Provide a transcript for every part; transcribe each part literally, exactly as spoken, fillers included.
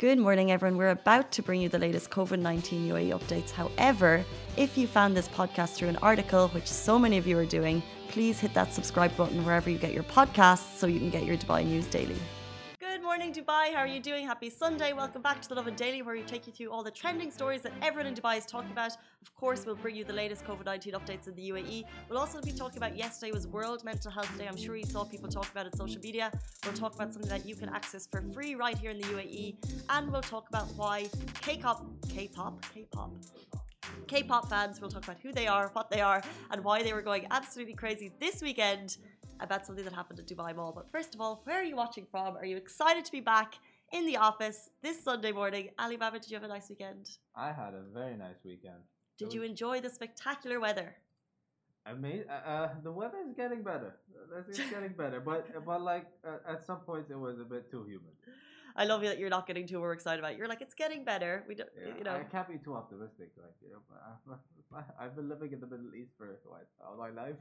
Good morning, everyone. We're about to bring you the latest COVID nineteen U A E updates. However, if you found this podcast through an article, which so many of you are doing, please hit that subscribe button wherever you get your podcasts so you can get your Dubai news daily. Good morning, Dubai. How are you doing? Happy Sunday. Welcome back to the Lovin Daily, where we take you through all the trending stories that everyone in Dubai is talking about. Of course, we'll bring you the latest COVID nineteen updates in the U A E. We'll also be talking about yesterday was World Mental Health Day. I'm sure you saw people talk about it on social media. We'll talk about something that you can access for free right here in the U A E. And we'll talk about why K-pop, K-pop, K-pop, K-pop fans, we'll talk about who they are, what they are, and why they were going absolutely crazy this weekend about something that happened at Dubai Mall. But first of all, where are you watching from? Are you excited to be back in the office this Sunday morning? Ali Baba, did you have a nice weekend? I had a very nice weekend. Did was, you enjoy the spectacular weather? I mean, uh, uh, the weather is getting better. It's getting better, but but like uh, at some points it was a bit too humid. I love that you're not getting too overexcited about it. You're like, it's getting better. We don't, Yeah, you know. I can't be too optimistic. Like, you know, I've, I've been living in the Middle East for what, all my life.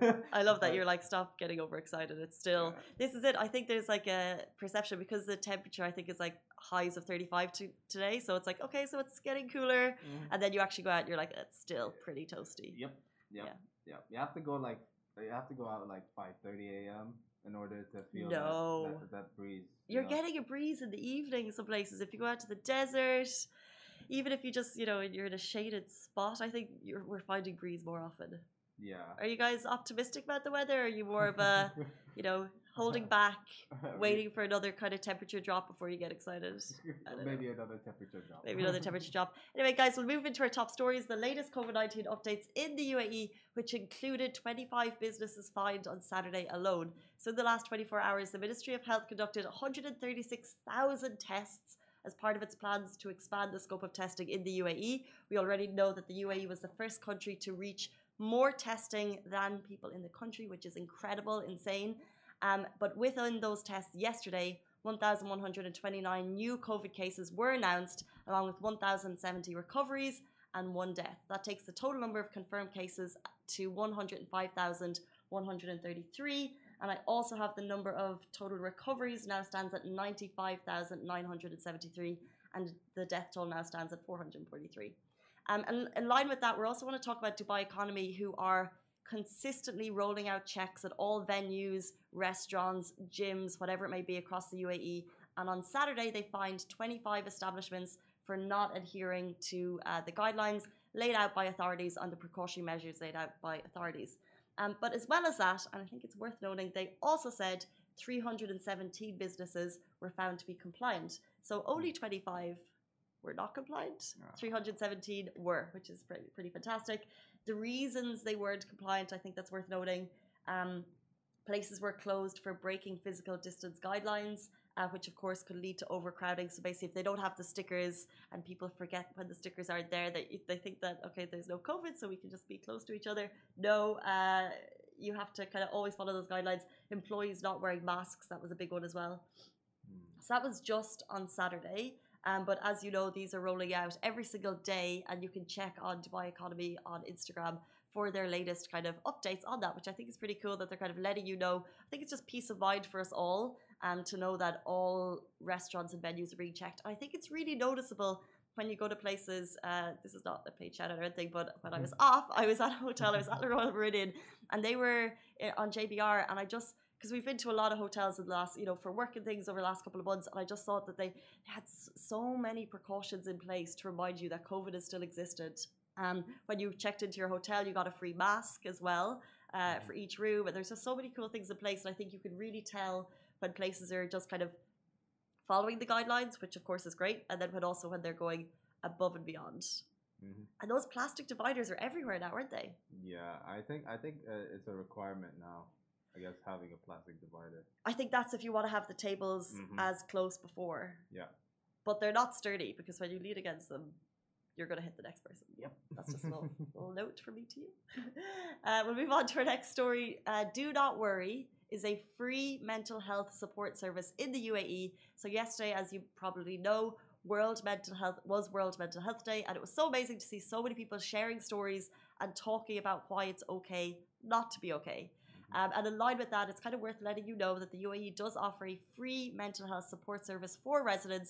I love that you're like, stop getting overexcited. It's still, yeah. This is it. I think there's like a perception because the temperature, I think, is like highs of thirty-five to today. So it's like, okay, so it's getting cooler. Mm. And then you actually go out and you're like, it's still pretty toasty. Yep. Yep. Yeah. Yeah. You have to go like, you have to go out at like five thirty a.m. in order to feel no. that, that, that breeze. You You're know? Getting a breeze in the evening some places. If you go out to the desert, even if you just, you know, you're in a shaded spot, I think you're, we're finding breeze more often. Yeah. Are you guys optimistic about the weather? Or are you more of a, you know, holding back, waiting for another kind of temperature drop before you get excited? Maybe know. another temperature drop. Maybe another temperature drop. Anyway, guys, we'll move into our top stories. The latest COVID nineteen updates in the U A E, which included twenty-five businesses fined on Saturday alone. So in the last twenty-four hours, the Ministry of Health conducted one hundred thirty-six thousand tests as part of its plans to expand the scope of testing in the U A E. We already know that the U A E was the first country to reach more testing than people in the country, which is incredible, insane. Um, but within those tests yesterday, one thousand one hundred twenty-nine new COVID cases were announced, along with one thousand seventy recoveries and one death. That takes the total number of confirmed cases to one hundred five thousand one hundred thirty-three. And I also have the number of total recoveries now stands at ninety-five thousand nine hundred seventy-three, and the death toll now stands at four hundred forty-three. Um, and in line with that, we also want to talk about Dubai Economy, who are consistently rolling out checks at all venues, restaurants, gyms, whatever it may be across the U A E. And on Saturday, they fined twenty-five establishments for not adhering to uh, the guidelines laid out by authorities on the precautionary measures laid out by authorities. Um, but as well as that, and I think it's worth noting, they also said three hundred seventeen businesses were found to be compliant. So only twenty-five were not compliant, three hundred seventeen were, which is pretty, pretty fantastic. The reasons they weren't compliant, I think that's worth noting. Um, places were closed for breaking physical distance guidelines, uh, which of course could lead to overcrowding. So basically, if they don't have the stickers and people forget when the stickers aren't there, they, they think that, okay, there's no COVID, so we can just be close to each other. No, uh, you have to kind of always follow those guidelines. Employees not wearing masks, that was a big one as well. Mm. So that was just on Saturday. Um, but as you know, these are rolling out every single day, and you can check on Dubai Economy on Instagram for their latest kind of updates on that, which I think is pretty cool that they're kind of letting you know. I think it's just peace of mind for us all, um, to know that all restaurants and venues are being checked. And I think it's really noticeable when you go to places. Uh, this is not a paid shout out or anything, but when I was off, I was at a hotel, I was at the Royal Meridian, and they were on J B R, and I just... because we've been to a lot of hotels in the last, you know, for work and things over the last couple of months, and I just thought that they had so many precautions in place to remind you that COVID has still existed. Um, when you checked into your hotel, you got a free mask as well uh, for each room, and there's just so many cool things in place, and I think you can really tell when places are just kind of following the guidelines, which of course is great, and then when also when they're going above and beyond. Mm-hmm. And those plastic dividers are everywhere now, aren't they? Yeah, I think I think uh, it's a requirement now. I guess having a plastic divider. I think that's if you want to have the tables mm-hmm. as close before. Yeah. But they're not sturdy, because when you lean against them, you're going to hit the next person. Yep. That's just a little, little note from me to you. Uh, we'll move on to our next story. Uh, Do Not Worry is a free mental health support service in the U A E. So yesterday, as you probably know, World Mental Health was World Mental Health Day, and it was so amazing to see so many people sharing stories and talking about why it's okay not to be okay. Um, and in line with that, it's kind of worth letting you know that the U A E does offer a free mental health support service for residents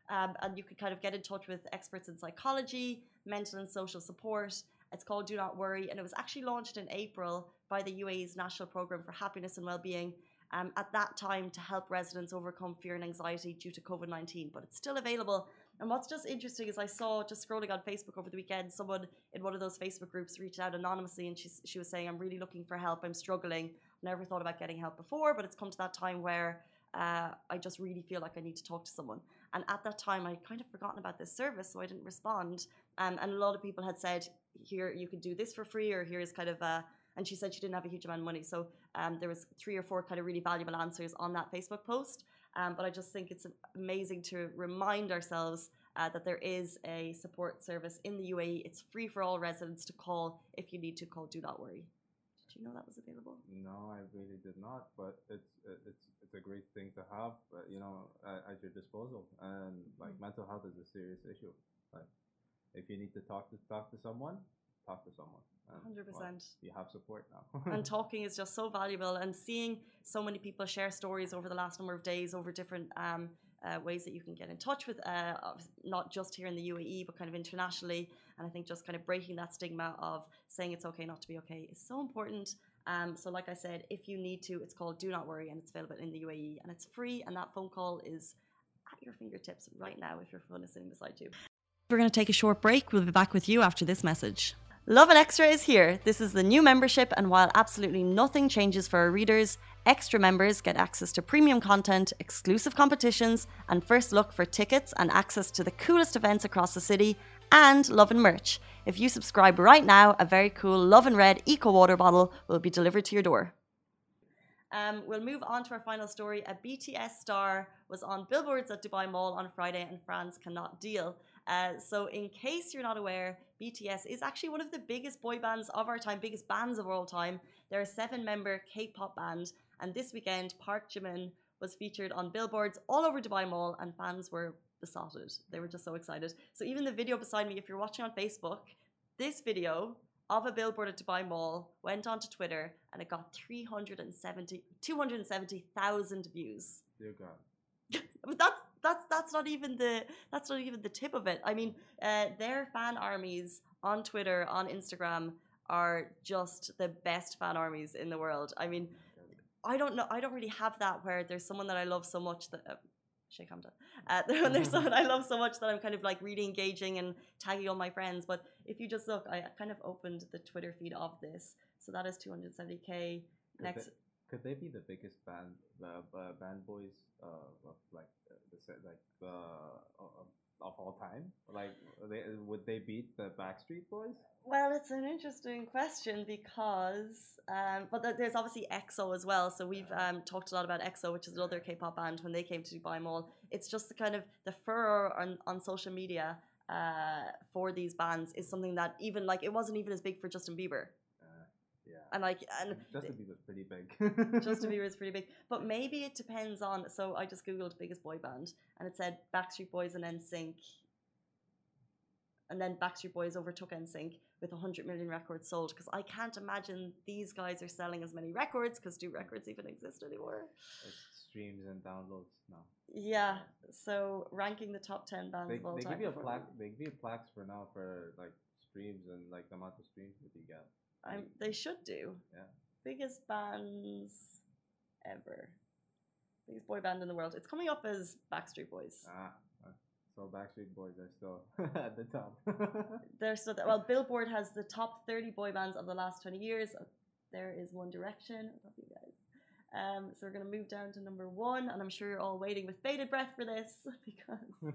Um, and you could kind of get in touch with experts in psychology, mental and social support. It's called Do Not Worry, and it was actually launched in April by the U A E's National Programme for Happiness and Wellbeing um, at that time to help residents overcome fear and anxiety due to COVID nineteen. But it's still available. And what's just interesting is I saw, just scrolling on Facebook over the weekend, someone in one of those Facebook groups reached out anonymously, and she, she was saying, I'm really looking for help, I'm struggling. Never thought about getting help before, but it's come to that time where uh, I just really feel like I need to talk to someone. And at that time, I'd kind of forgotten about this service, so I didn't respond. Um, and a lot of people had said, here, you could do this for free, or here's kind of a, and she said she didn't have a huge amount of money. So um, there was three or four kind of really valuable answers on that Facebook post. Um, but I just think it's amazing to remind ourselves uh, that there is a support service in the U A E. It's free for all residents to call if you need to call Do Not Worry. Did you know that was available? No, I really did not. But it's it's it's a great thing to have, uh, you know, uh, at your disposal. And like mm-hmm. mental health is a serious issue. Like if you need to talk to talk to someone, talk to someone. one hundred percent. Well, you have support now. And talking is just so valuable, and seeing so many people share stories over the last number of days over different um, uh, ways that you can get in touch with, uh, not just here in the U A E, but kind of internationally. And I think just kind of breaking that stigma of saying it's okay not to be okay is so important. Um, so like I said, if you need to, it's called Do Not Worry, and it's available in the U A E, and it's free, and that phone call is at your fingertips right now if your phone is sitting beside you. We're going to take a short break. We'll be back with you after this message. Lovin Extra is here. This is the new membership, and while absolutely nothing changes for our readers, extra members get access to premium content, exclusive competitions, and first look for tickets and access to the coolest events across the city, and Lovin merch. If you subscribe right now, a very cool Lovin Red Eco Water bottle will be delivered to your door. Um, we'll move on to our final story. A B T S star was on billboards at Dubai Mall on Friday, and fans cannot deal. Uh, so in case you're not aware, B T S is actually one of the biggest boy bands of our time, biggest bands of all time. They're a seven-member K-pop band, and this weekend Park Jimin was featured on billboards all over Dubai Mall, and fans were besotted. They were just so excited. So even the video beside me, if you're watching on Facebook, this video of a billboard at Dubai Mall went onto Twitter, and it got three hundred seventy, two hundred seventy thousand views. Dear God. But that's that's that's not even the that's not even the tip of it. I mean, uh, their fan armies on Twitter, on Instagram, are just the best fan armies in the world. I mean, I don't know. I don't really have that where there's someone that I love so much that. Uh, Shake Hamda. Uh, when there's someone I love so much that I'm kind of like really engaging and tagging all my friends. But if you just look, I kind of opened the Twitter feed of this. So that is two hundred seventy K. Could Next. They, could they be the biggest band, uh, uh, band boys, uh, of like uh, the like the uh, of all time? Like, they, would they beat the Backstreet Boys? Well, it's an interesting question because, um, but there's obviously EXO as well. So we've um, talked a lot about EXO, which is another K-pop band. When they came to Dubai Mall, it's just the kind of the furor on, on social media uh, for these bands is something that even like it wasn't even as big for Justin Bieber. Yeah. And like, and Justin Bieber's pretty big. Justin Bieber is pretty big, but maybe it depends on. So I just googled biggest boy band, and it said Backstreet Boys and N Sync, and then Backstreet Boys overtook N Sync with one hundred million records sold. Because I can't imagine these guys are selling as many records. Because do records even exist anymore? It's streams and downloads now. Yeah. So ranking the top ten bands they, of all they time. Give you a plaque, they give you plaques for now for like streams and like the amount of streams that you get. I'm, they should do. Yeah. Biggest bands ever. Biggest boy band in the world. It's coming up as Backstreet Boys. Ah, so Backstreet Boys are still at the top. They're still there. Well, Billboard has the top thirty boy bands of the last twenty years. There is One Direction. I love you guys. Um, so we're going to move down to number one, and I'm sure you're all waiting with bated breath for this because.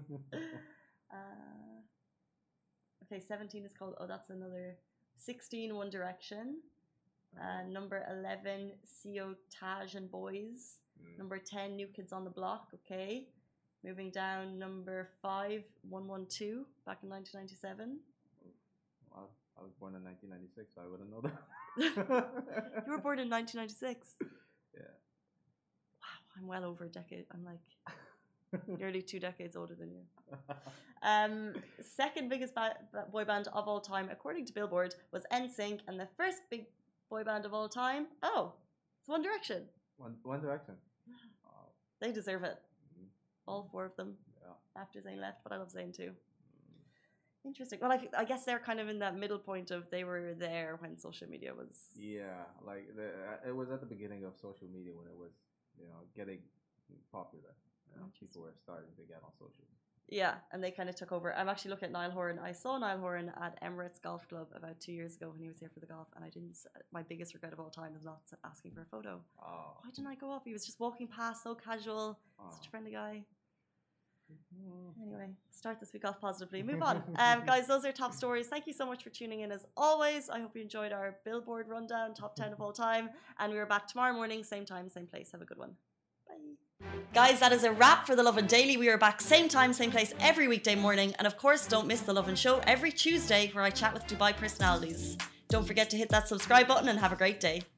uh, okay, seventeen is called. Oh, that's another. sixteen, One Direction. Uh, number eleven, C O Taj and Boys. Mm. Number ten, New Kids on the Block. Okay. Moving down, number five, one one two, back in nineteen ninety-seven. Well, I was born in nineteen ninety-six, so I wouldn't know that. You were born in nineteen ninety-six? Yeah. Wow, I'm well over a decade. I'm like nearly two decades older than you. Um, second biggest ba- boy band of all time, according to Billboard, was N Sync, and the first big boy band of all time, oh, it's One Direction. One One Direction. They deserve it. Mm-hmm. All four of them. Yeah. after Zayn left, but I love Zayn too. Interesting. Well, I, I guess they're kind of in that middle point of they were there when social media was. Yeah, like the, it was at the beginning of social media when it was, you know, getting popular. You know, people were starting to get on social. Yeah, and they kind of took over. I'm actually looking at Niall Horan. I saw Niall Horan at Emirates Golf Club about two years ago when he was here for the golf, and I didn't. My biggest regret of all time is not asking for a photo. Oh. Why didn't I go up? He was just walking past, so casual, Oh. such a friendly guy. Anyway, start this week off positively. Move on. Um, guys, those are top stories. Thank you so much for tuning in as always. I hope you enjoyed our Billboard rundown, top ten of all time. And we're back tomorrow morning, same time, same place. Have a good one. Bye. Guys, that is a wrap for The Lovin Daily. We are back same time, same place every weekday morning. And of course, don't miss The Lovin Show every Tuesday where I chat with Dubai personalities. Don't forget to hit that subscribe button and have a great day.